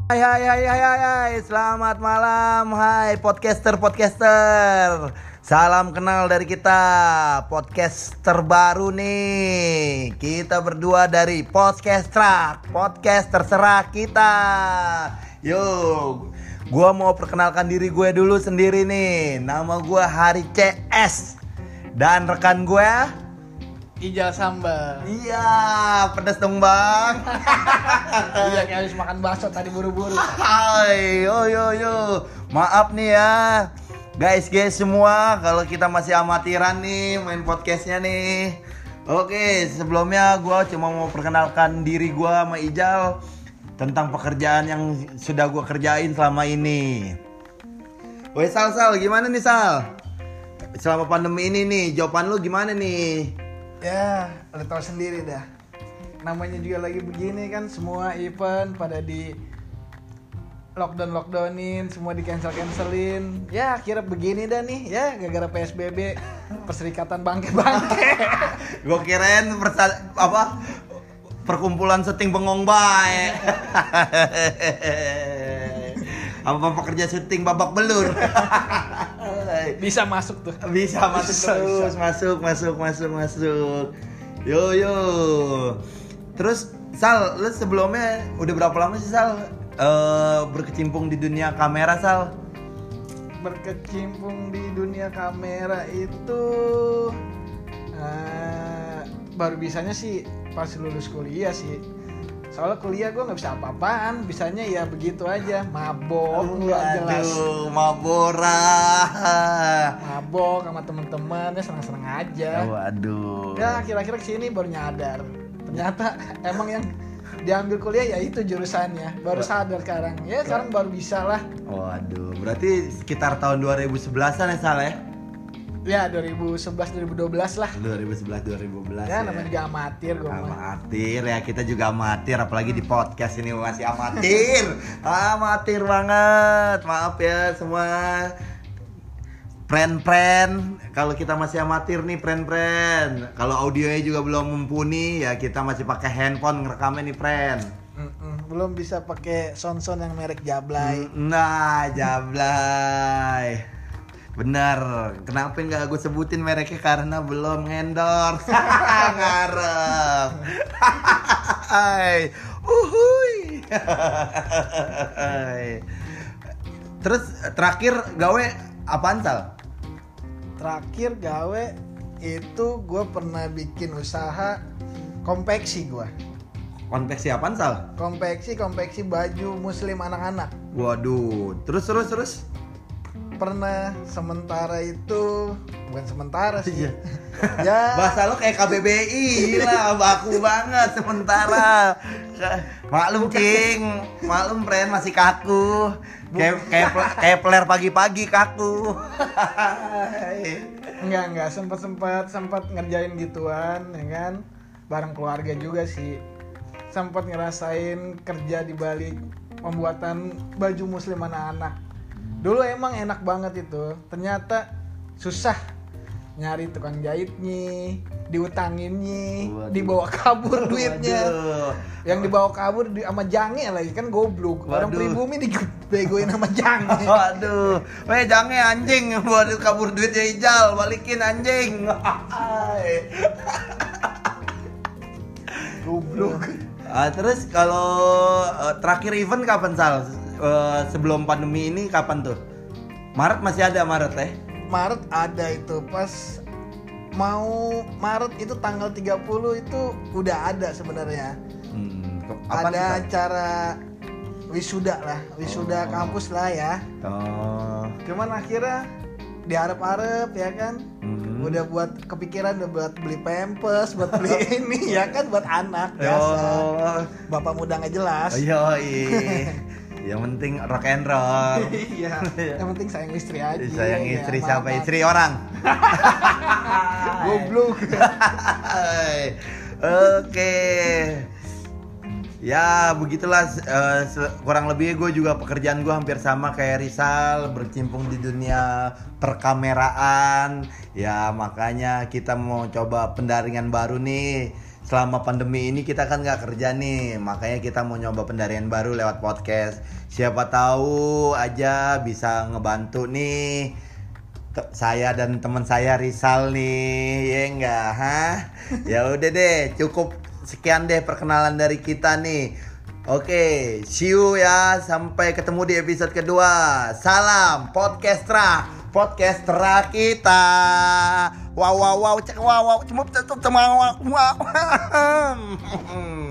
Hai, selamat malam, hai podcaster. Salam kenal dari kita, podcast terbaru nih. Kita berdua dari Podcast Track, podcast terserah kita. Yo, gua mau perkenalkan diri gue dulu sendiri nih. Nama gua Hari CS dan rekan gue Ijal Sambal. Iya, pedas dong bang. Iya, kayak habis makan bakso tadi buru-buru. Hai, yo. Maaf nih ya, guys semua, kalau kita masih amatiran nih main podcastnya nih. Oke, sebelumnya gue cuma mau perkenalkan diri gue sama Ijal tentang pekerjaan yang sudah gue kerjain selama ini. Woi Sal, gimana nih Sal? Selama pandemi ini nih, jawaban lu gimana nih? Ya, lo tau sendiri dah. Namanya juga lagi begini kan, semua event pada di lockdownin, semua di cancelin. Ya akhirnya begini dah nih, ya gara-gara PSBB, perserikatan bangke. Gue kirain perkumpulan syuting bengong bae. Apa pekerja syuting babak belur. Bisa masuk tuh. Bisa terus. Masuk. Yo. Terus Sal, lu sebelumnya udah berapa lama sih Sal berkecimpung di dunia kamera Sal? Berkecimpung di dunia kamera itu baru bisanya sih pas lulus kuliah sih. Soalnya kuliah gue nggak bisa apa-apaan, bisanya ya begitu aja, mabok nggak jelas. Mabok sama temen-temen, ya senang-senang aja. Waduh. Ya kira-kira kesini baru nyadar, ternyata emang yang diambil kuliah ya itu jurusannya. Baru sadar sekarang, ya sekarang baru bisa lah. Waduh, berarti sekitar tahun 2011an ya Sal ya? Ya 2011-2012 lah. 2011-2012 ya. Namanya juga amatir gue. Amatir ya, kita juga amatir, apalagi di podcast ini masih amatir. Amatir banget. Maaf ya semua Pren, kalau kita masih amatir nih Pren. Kalau audionya juga belum mumpuni ya, kita masih pakai handphone ngerekamnya nih Pren. Belum bisa pakai sound yang merek Jablay. Nah, Jablay. Benar, kenapa nggak gue sebutin mereknya, karena belum endorse. Ngarep. Uhuy. Terus terakhir gawe apaan Sal? Terakhir gawe itu gue pernah bikin usaha konveksi gue. Konveksi apaan Sal? Konveksi baju muslim anak-anak. Waduh, terus pernah sementara itu, bukan sementara sih. Ya. Bahasa lo kayak KBBI lah, baku banget sementara. Maklum Pren masih kaku. Kayak peler pagi-pagi kaku. Enggak, sempat ngerjain gituan ya kan. Bareng keluarga juga sih. Sempat ngerasain kerja di balik pembuatan baju muslim anak-anak. Dulu emang enak banget itu, ternyata susah nyari tukang jahitnya, diutanginnya, dibawa kabur duitnya. Yang dibawa kabur sama Jange lagi kan goblok. Orang pribumi dibegoin sama Jange. Waduh, Jange anjing buat kabur duitnya Ijal, balikin anjing. Goblok. Terus kalau terakhir event kapan Sal? Sebelum pandemi ini kapan tuh? Maret masih ada Maret ada itu pas Maret itu tanggal 30 itu udah ada sebenarnya. Ada acara wisuda kampus lah ya. Cuman akhirnya diharap-harap ya kan. Udah buat kepikiran buat beli pampers, buat beli ini ya kan, buat anak biasa. Bapak muda nggak jelas. Yang penting rock and roll. Iya. Yang penting sayang istri aja. Sayang istri ya, siapa? Istri orang. Goblok. Oke. Ya begitulah, kurang lebih gue juga pekerjaan gue hampir sama kayak Rizal, berkecimpung di dunia perkameraan. Ya makanya kita mau coba pendaringan baru nih selama pandemi ini kita kan nggak kerja nih, makanya kita mau nyoba pendarian baru lewat podcast. Siapa tahu aja bisa ngebantu nih saya dan teman saya Rizal nih, ya enggak, Ya udah deh, cukup sekian deh perkenalan dari kita nih. Oke, see you ya, sampai ketemu di episode kedua. Salam podcastra kita. Wow, cek wow, cuma wow.